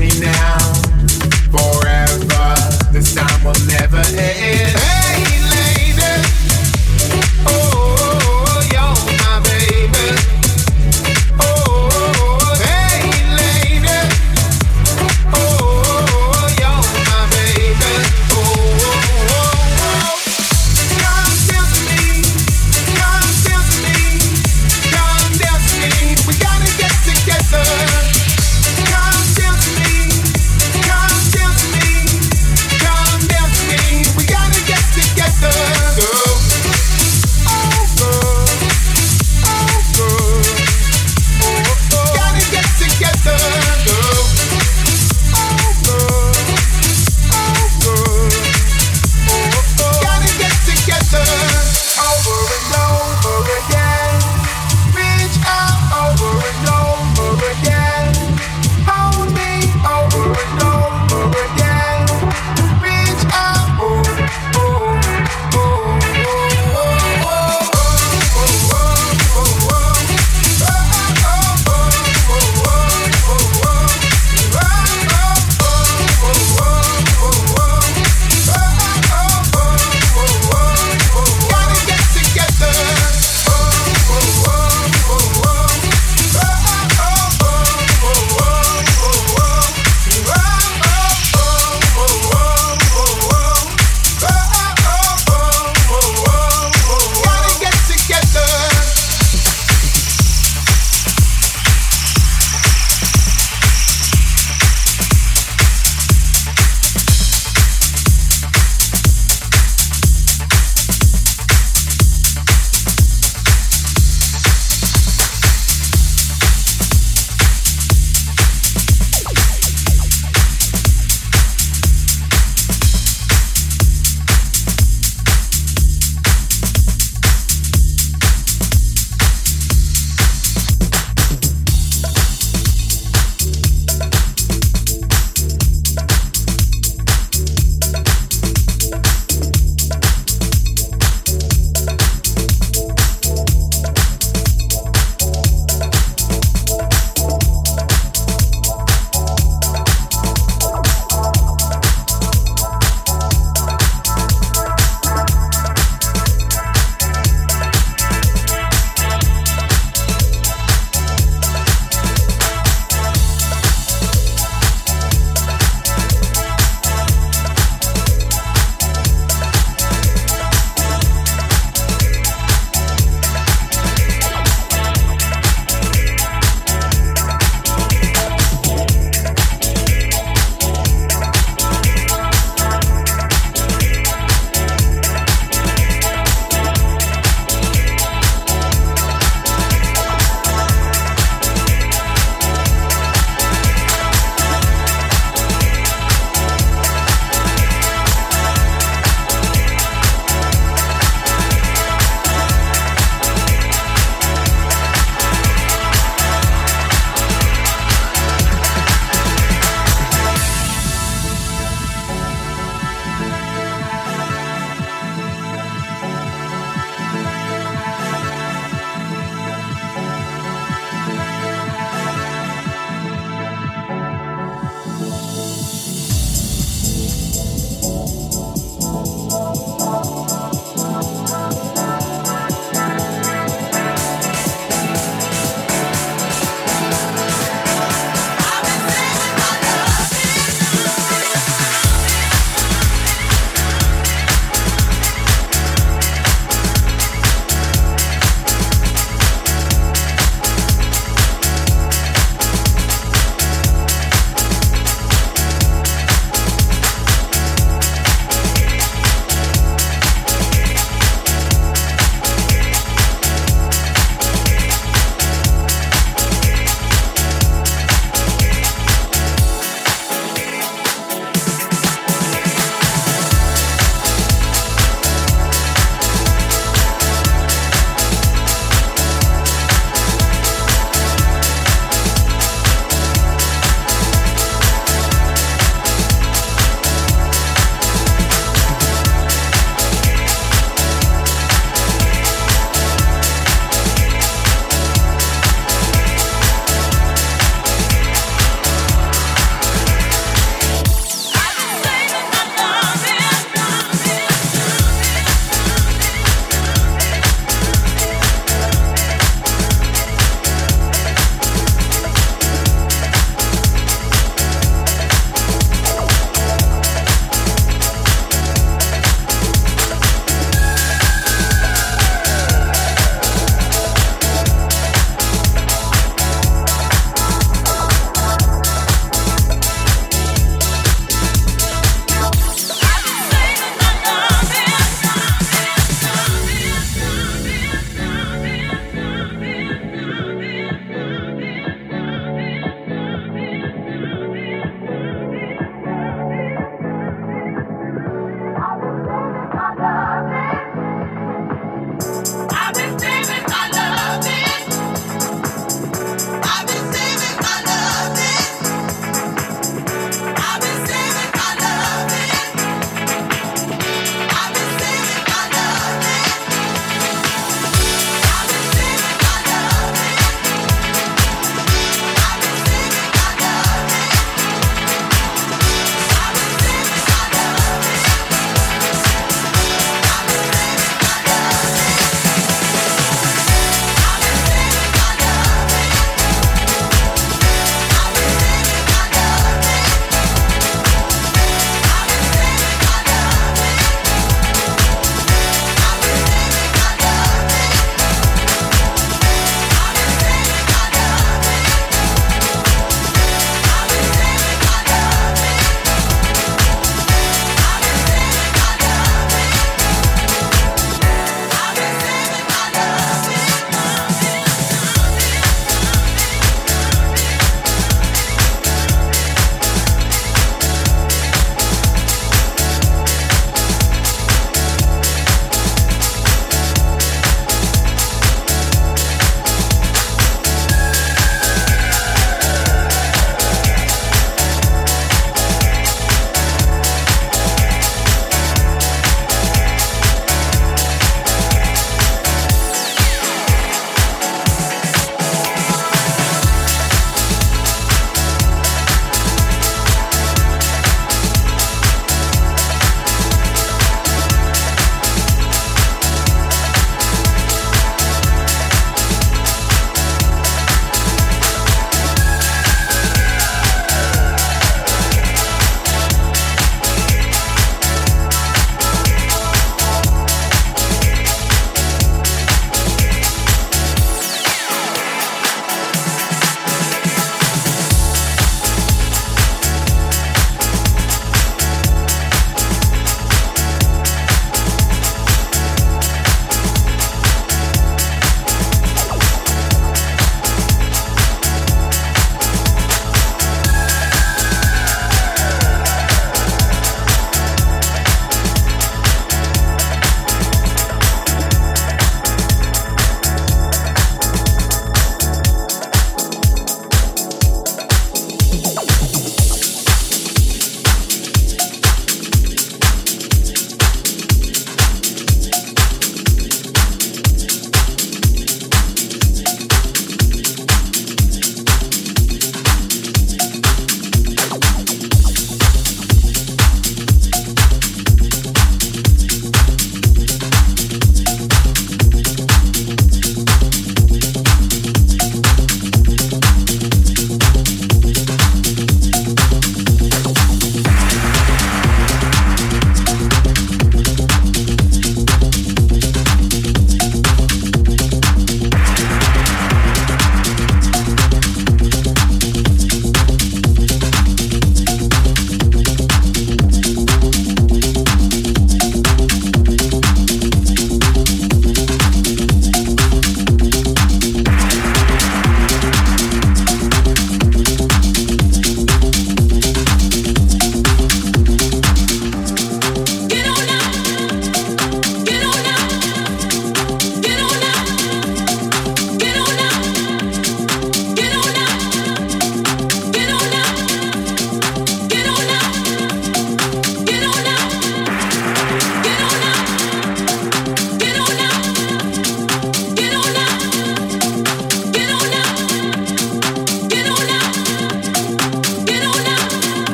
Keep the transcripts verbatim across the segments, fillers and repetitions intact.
me now. Forever, this time will never end. Hey lady, oh, you're my baby. Oh, hey lady, oh, you're my baby. Oh, oh, oh. Come dance with me, come dance with me, come dance with me. We gotta get together. Come dance with me,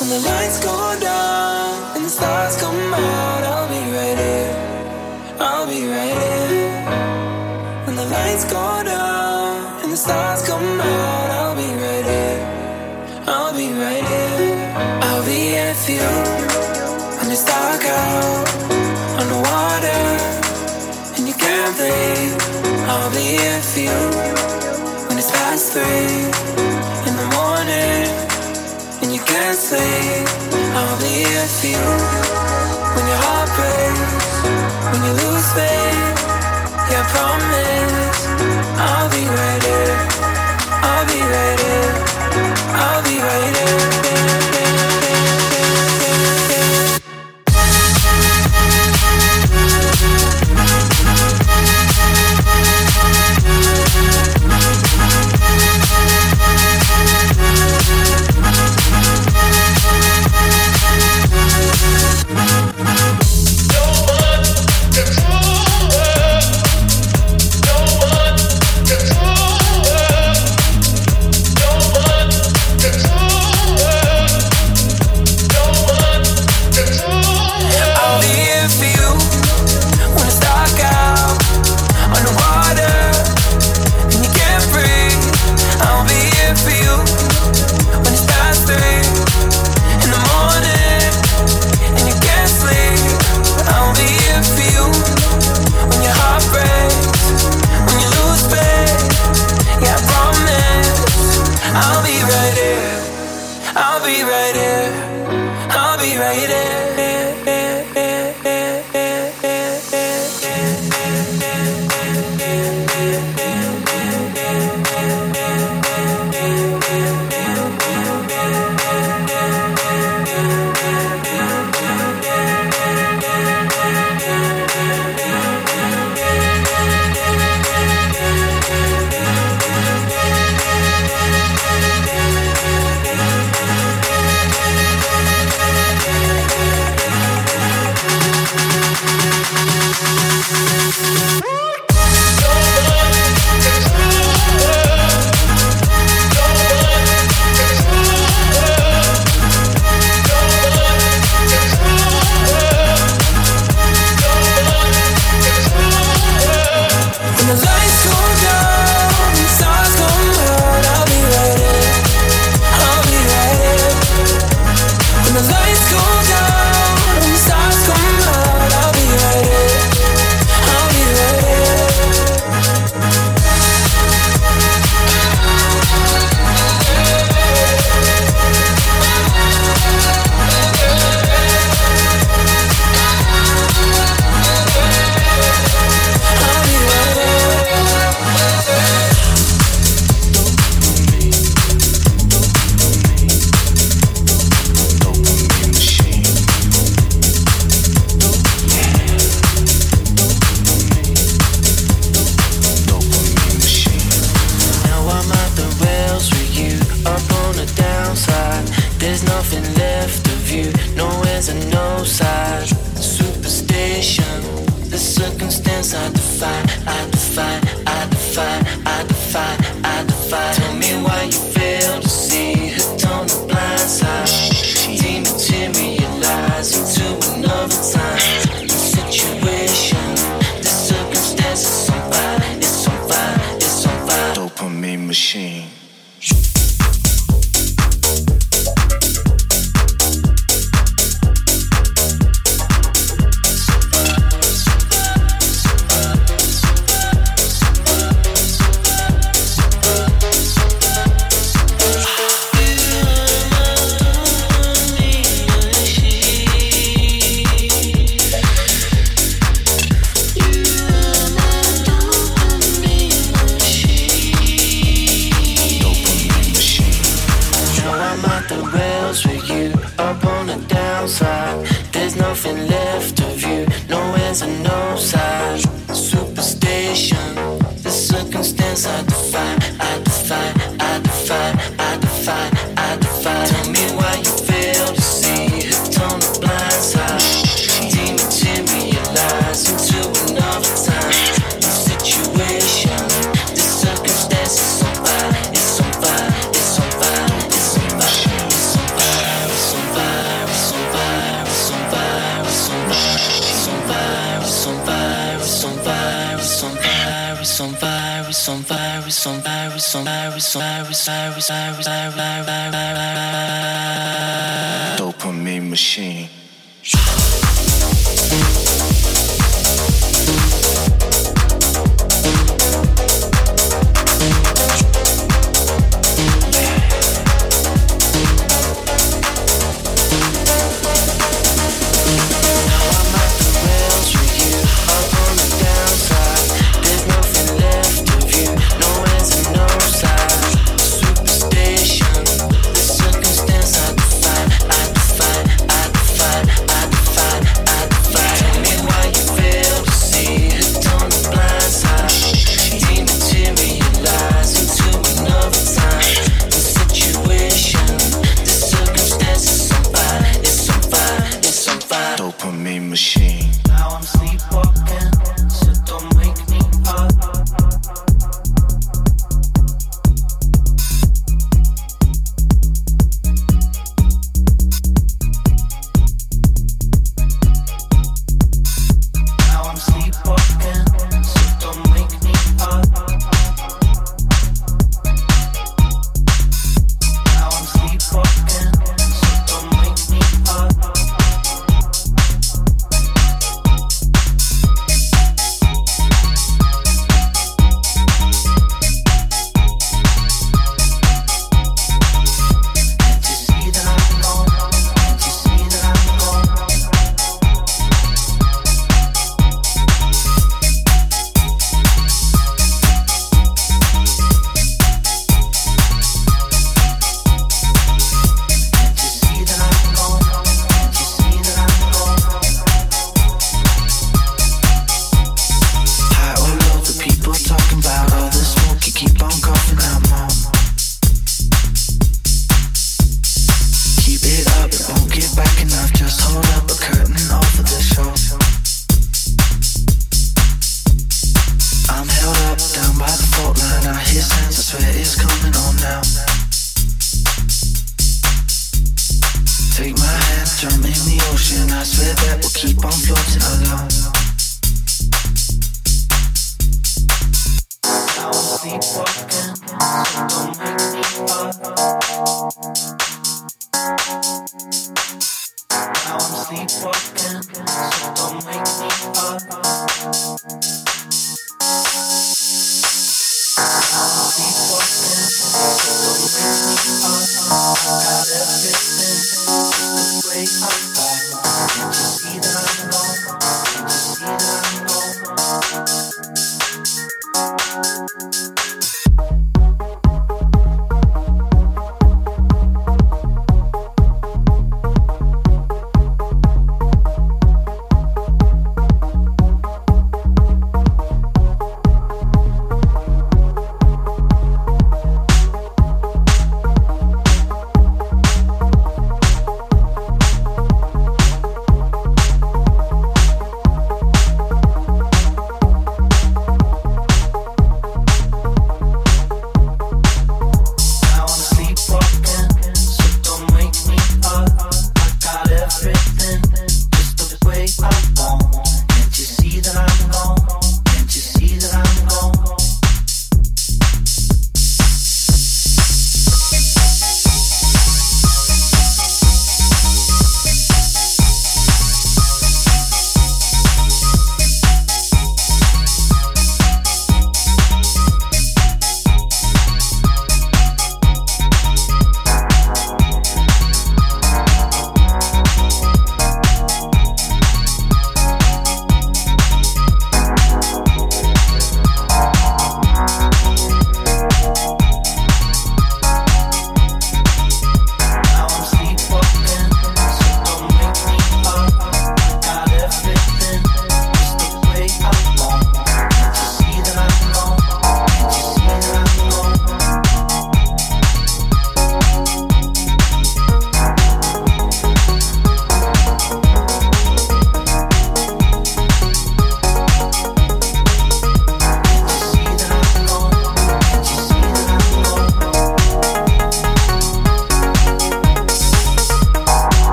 When the lights go down and the stars come out, I'll be right here. I'll be right here. When the lights go down and the stars come out, I'll be right here. I'll be right here. I'll be here for you when it's dark out on the water and you can't breathe. I'll be here for you when it's past three in the morning and you can't sleep. I'll be here for you when your heart breaks, when you lose faith. Yeah, I promise I'll be right here. I'll be right here. I'll be right here. on fire, it's on fire, it's on fire, it's on fire, it's on fire, it's on fire, it's on fire. Dopamine machine.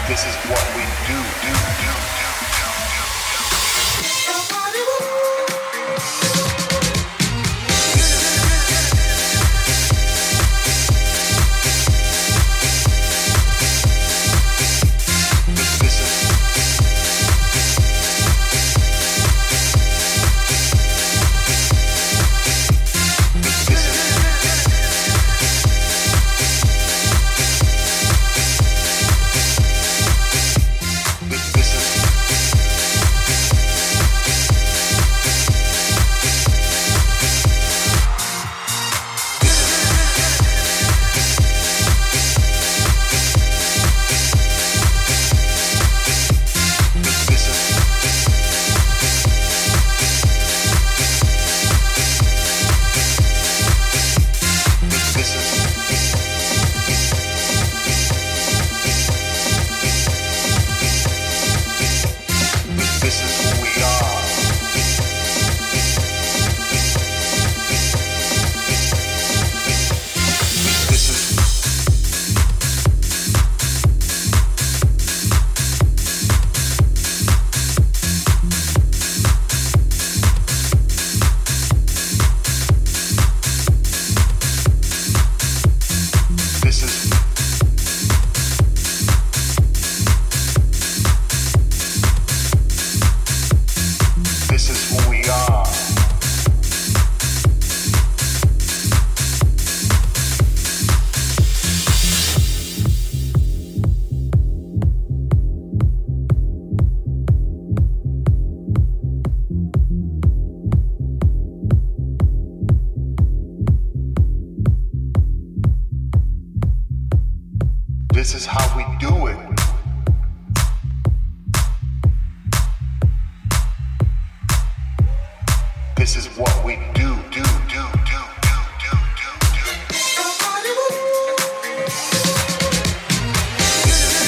This is what we do, do, do, do, do, do, This is This is This is how we do it. This is what we do, do, do, do, do, do, do, do. This is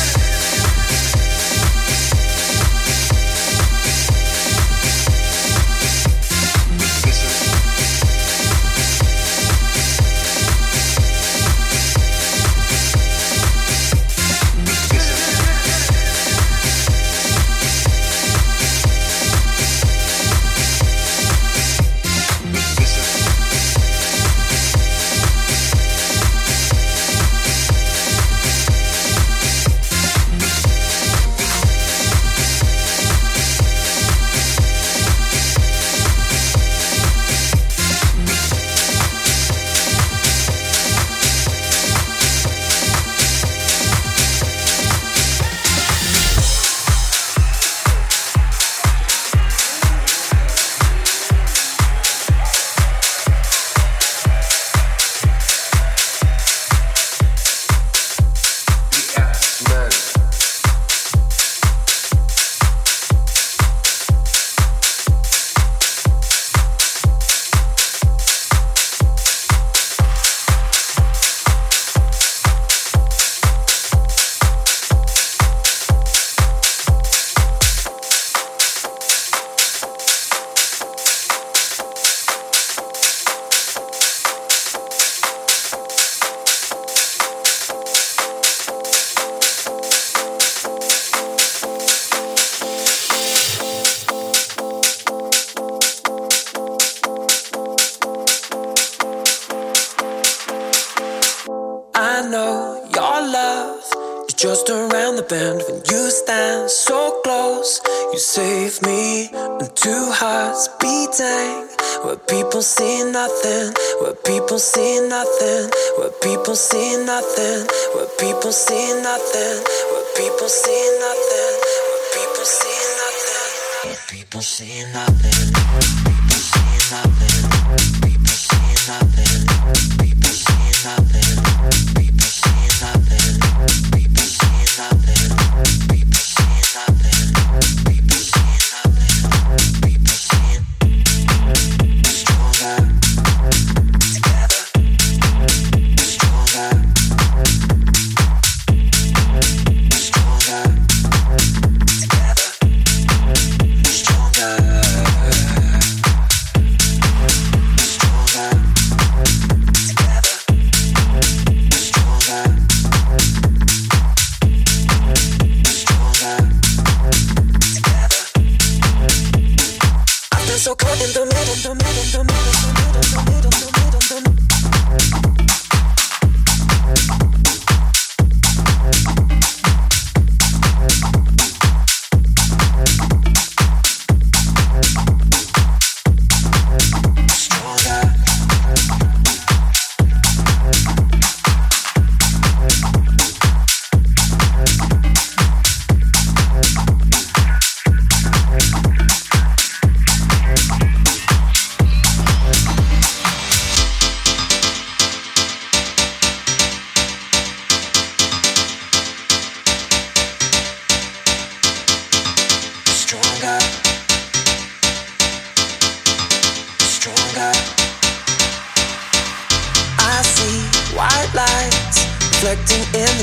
This is just around the bend when you stand so close. You save me and two hearts beating. Where people see nothing, where people see nothing, where people see nothing, where people see nothing, where people see nothing, where people see nothing, where people see nothing, people see nothing, people see nothing, people see nothing, people see nothing, people see nothing, people see nothing, people see nothing, people see stronger together, stronger, stronger together, stronger, stronger together, stronger.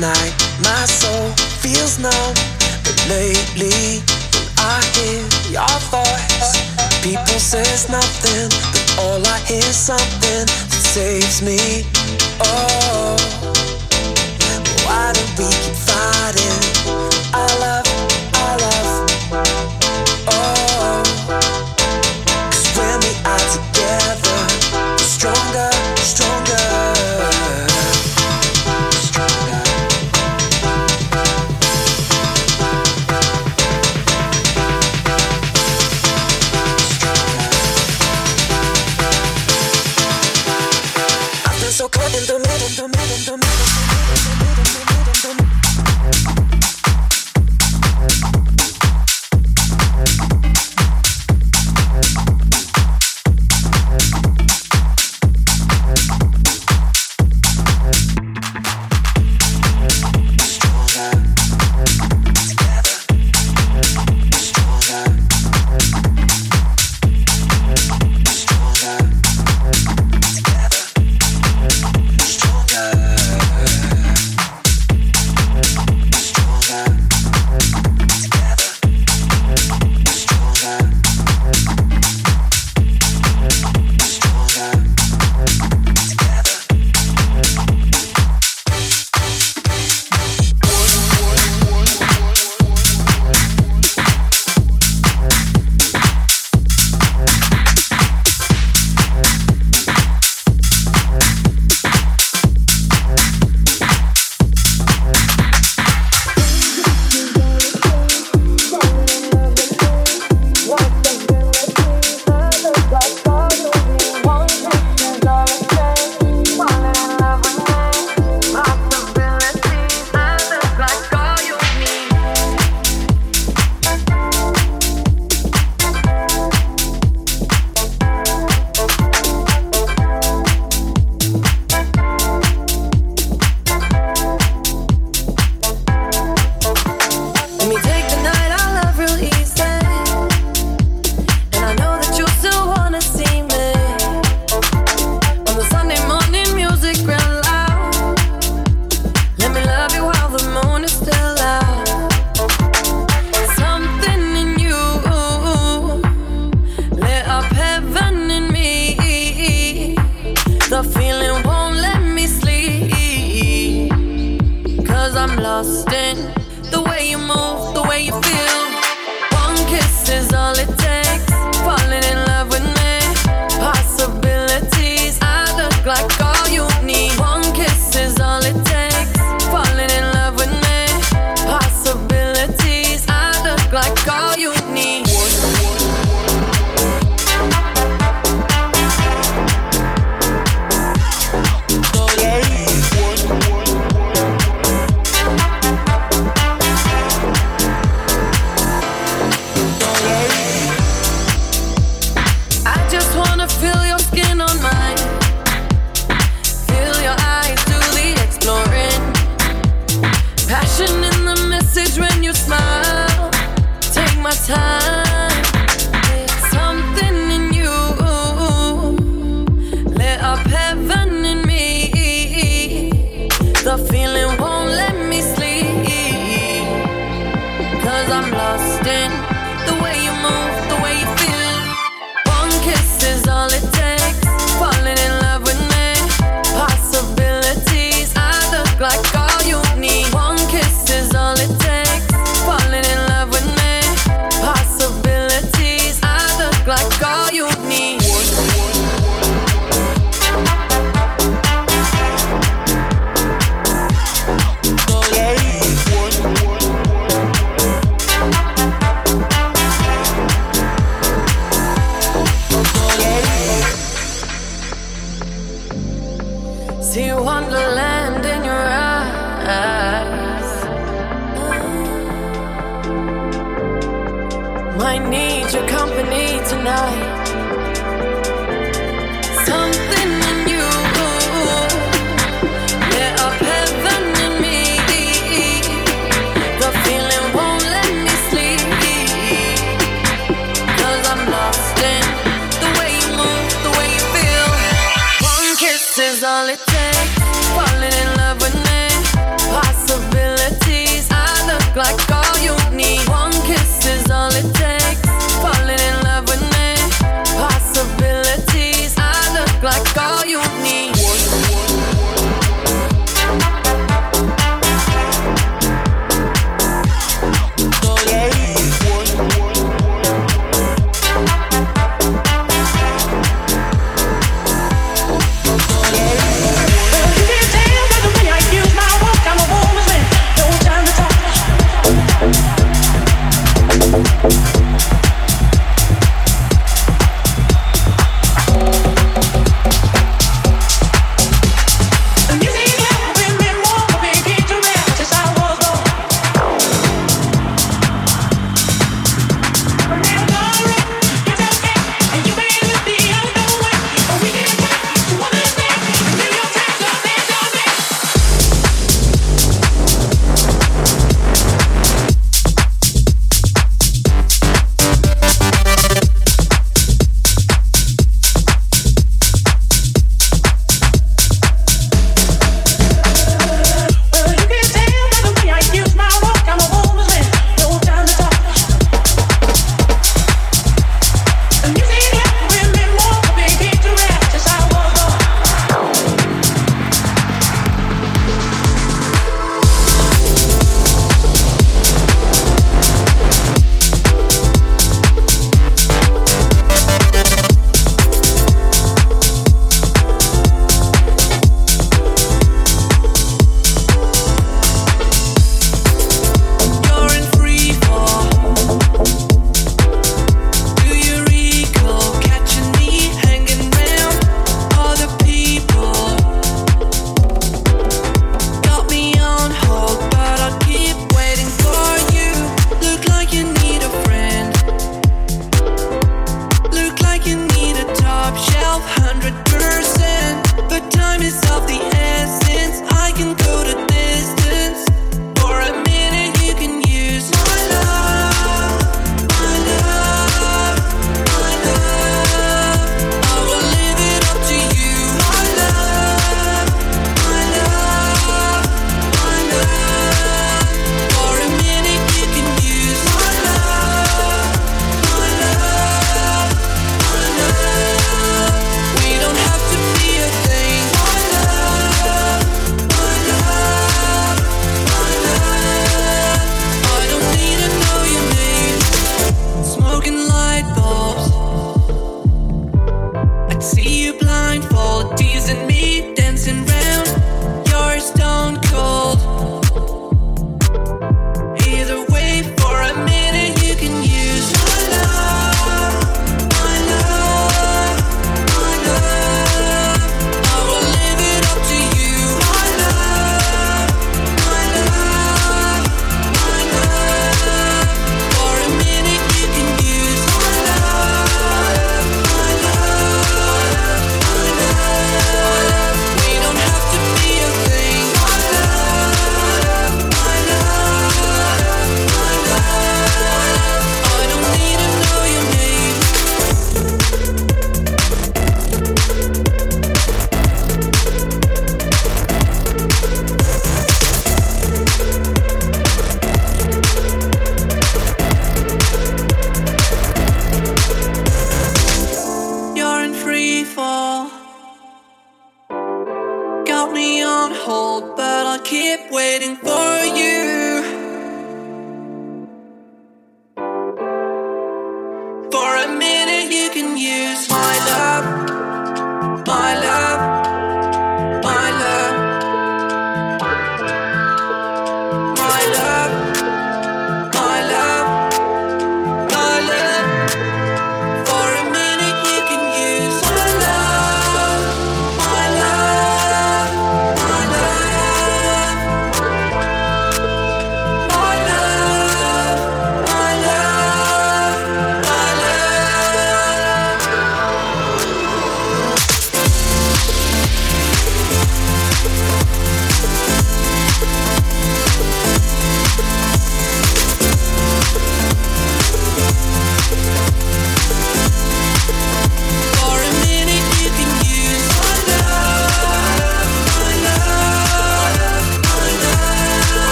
night, my soul feels numb. But lately, when I hear your voice, people says nothing, but all I hear is something that saves me. Oh, why do we keep fighting? I love, I love. Oh, 'cause when we are together, we're stronger, stronger. So caught in the middle, the middle, the middle, the middle, the middle, the middle. All it takes, falling in love with me, possible.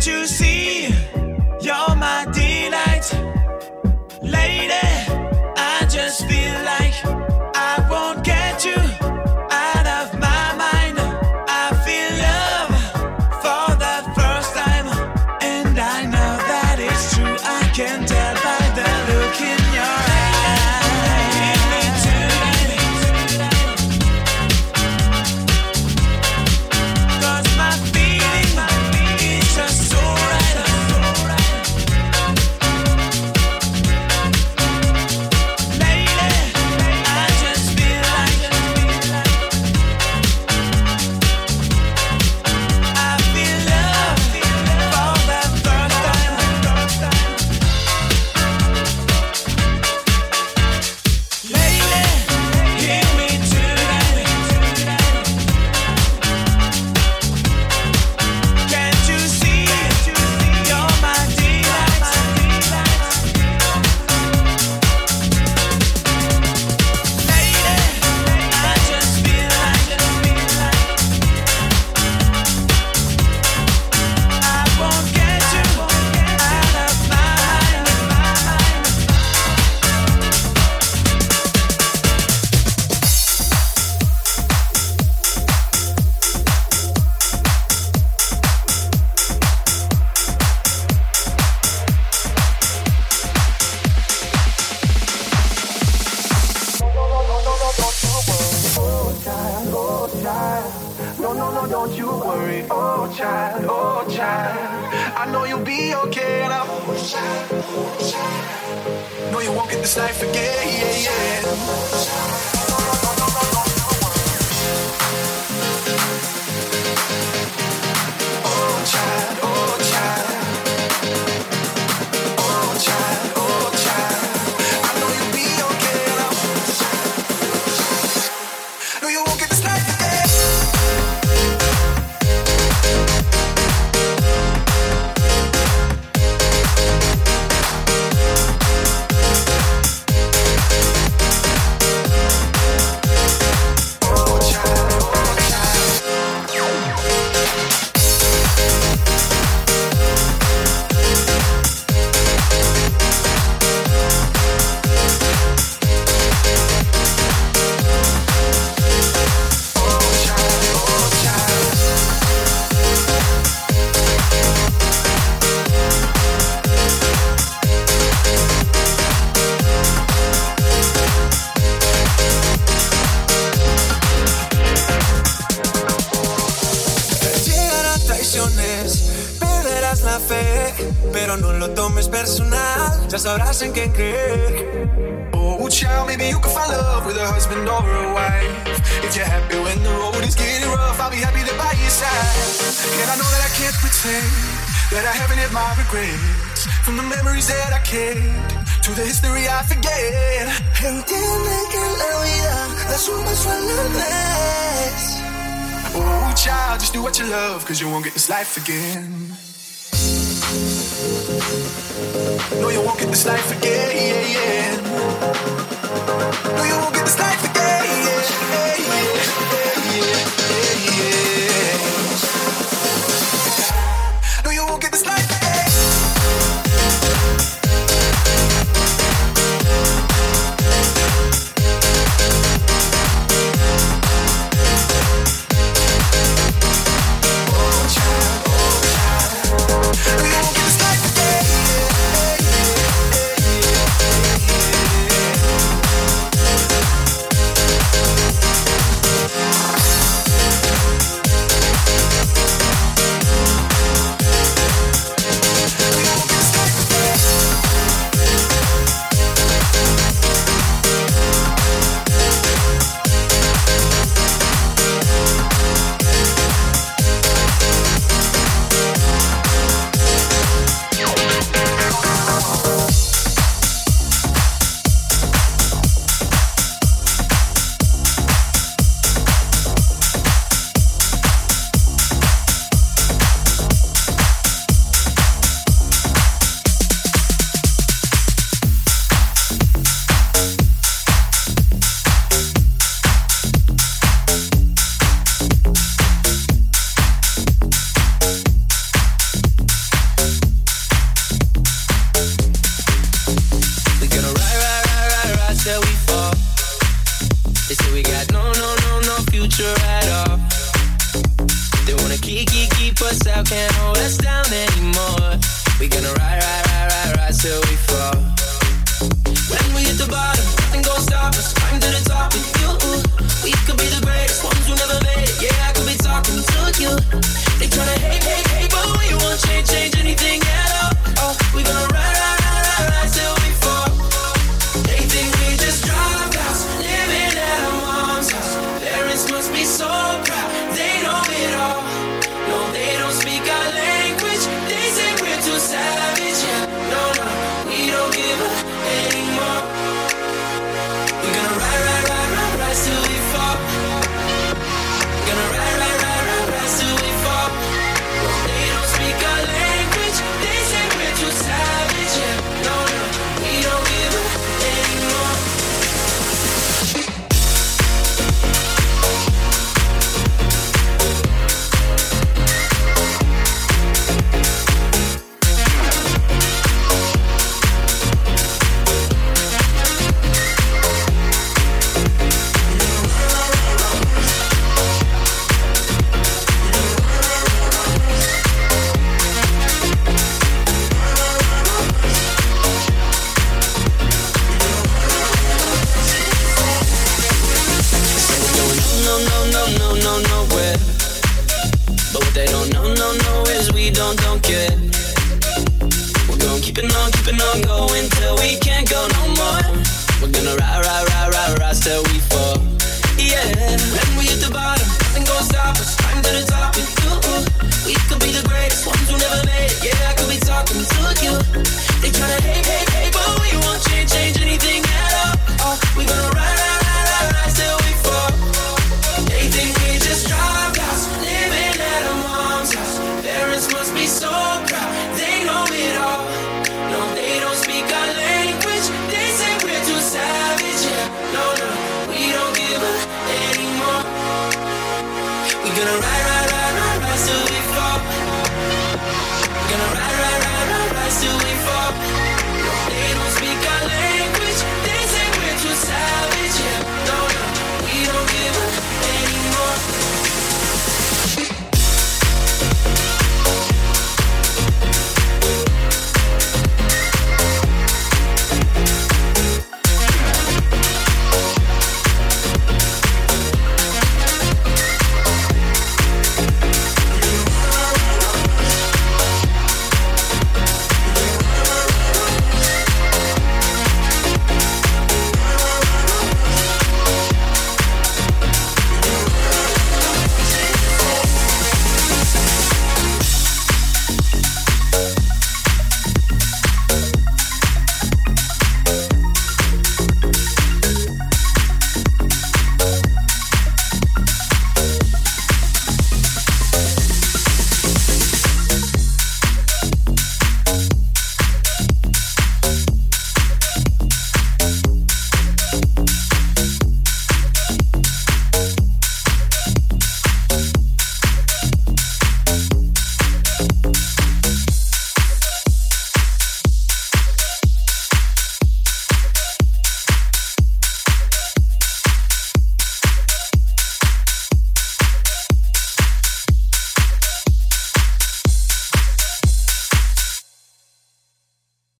you see? You're my delight. Lady, I just feel like I won't get you out of my mind. I feel love for the first time, and I know that it's true. I can tell by the look in your eyes. Give me tonight, 'cause my feeling is just so right. Sabrás en qué creer. Oh, child, maybe you can find love with a husband or a wife. If you're happy when the road is getting rough, I'll be happy to by your side. And I know that I can't pretend that I haven't had my regrets. From the memories that I kept to the history I forget. Entiende que la vida es un paso a la vez. Oh, child, just do what you love, 'cause you won't get this life again. No, you won't get this life again. No, you won't get this life again. No, you won't get this life again. Oh, child, oh, child. No, you won't get this life again. keep us out, can't hold us down anymore. We gonna ride, ride, ride, ride, ride till we fall. When we hit the bottom, nothing gon' stop us. Climb to the top with you. We could be the greatest ones who never made it. Yeah, I could be talking to you. They tryna hate, hate, hate, but we won't change, change anything at all. Oh, we gonna ride, ride, ride, ride, ride till we fall. They think we just drive house, living at our mom's house. Parents must be so proud, they know it all. No, they don't speak our language. They say we're too savage. Yeah, no, no, we don't give up anymore. We're gonna ride, ride, ride, ride, ride till we fall. We're gonna ride, ride, ride, ride, ride till we fall. No, they don't speak our language. They say we're too savage. Yeah, no, no, we don't give up anymore. No, no, no, no, no, nowhere. But what they don't know, no, no, is we don't, don't care. We're gonna keep it on, keep it on going till we can't go no more. We're gonna ride, ride, ride, ride, ride till we fall. Yeah, when we hit the bottom, nothing gon' stop us. Climb to the top with you.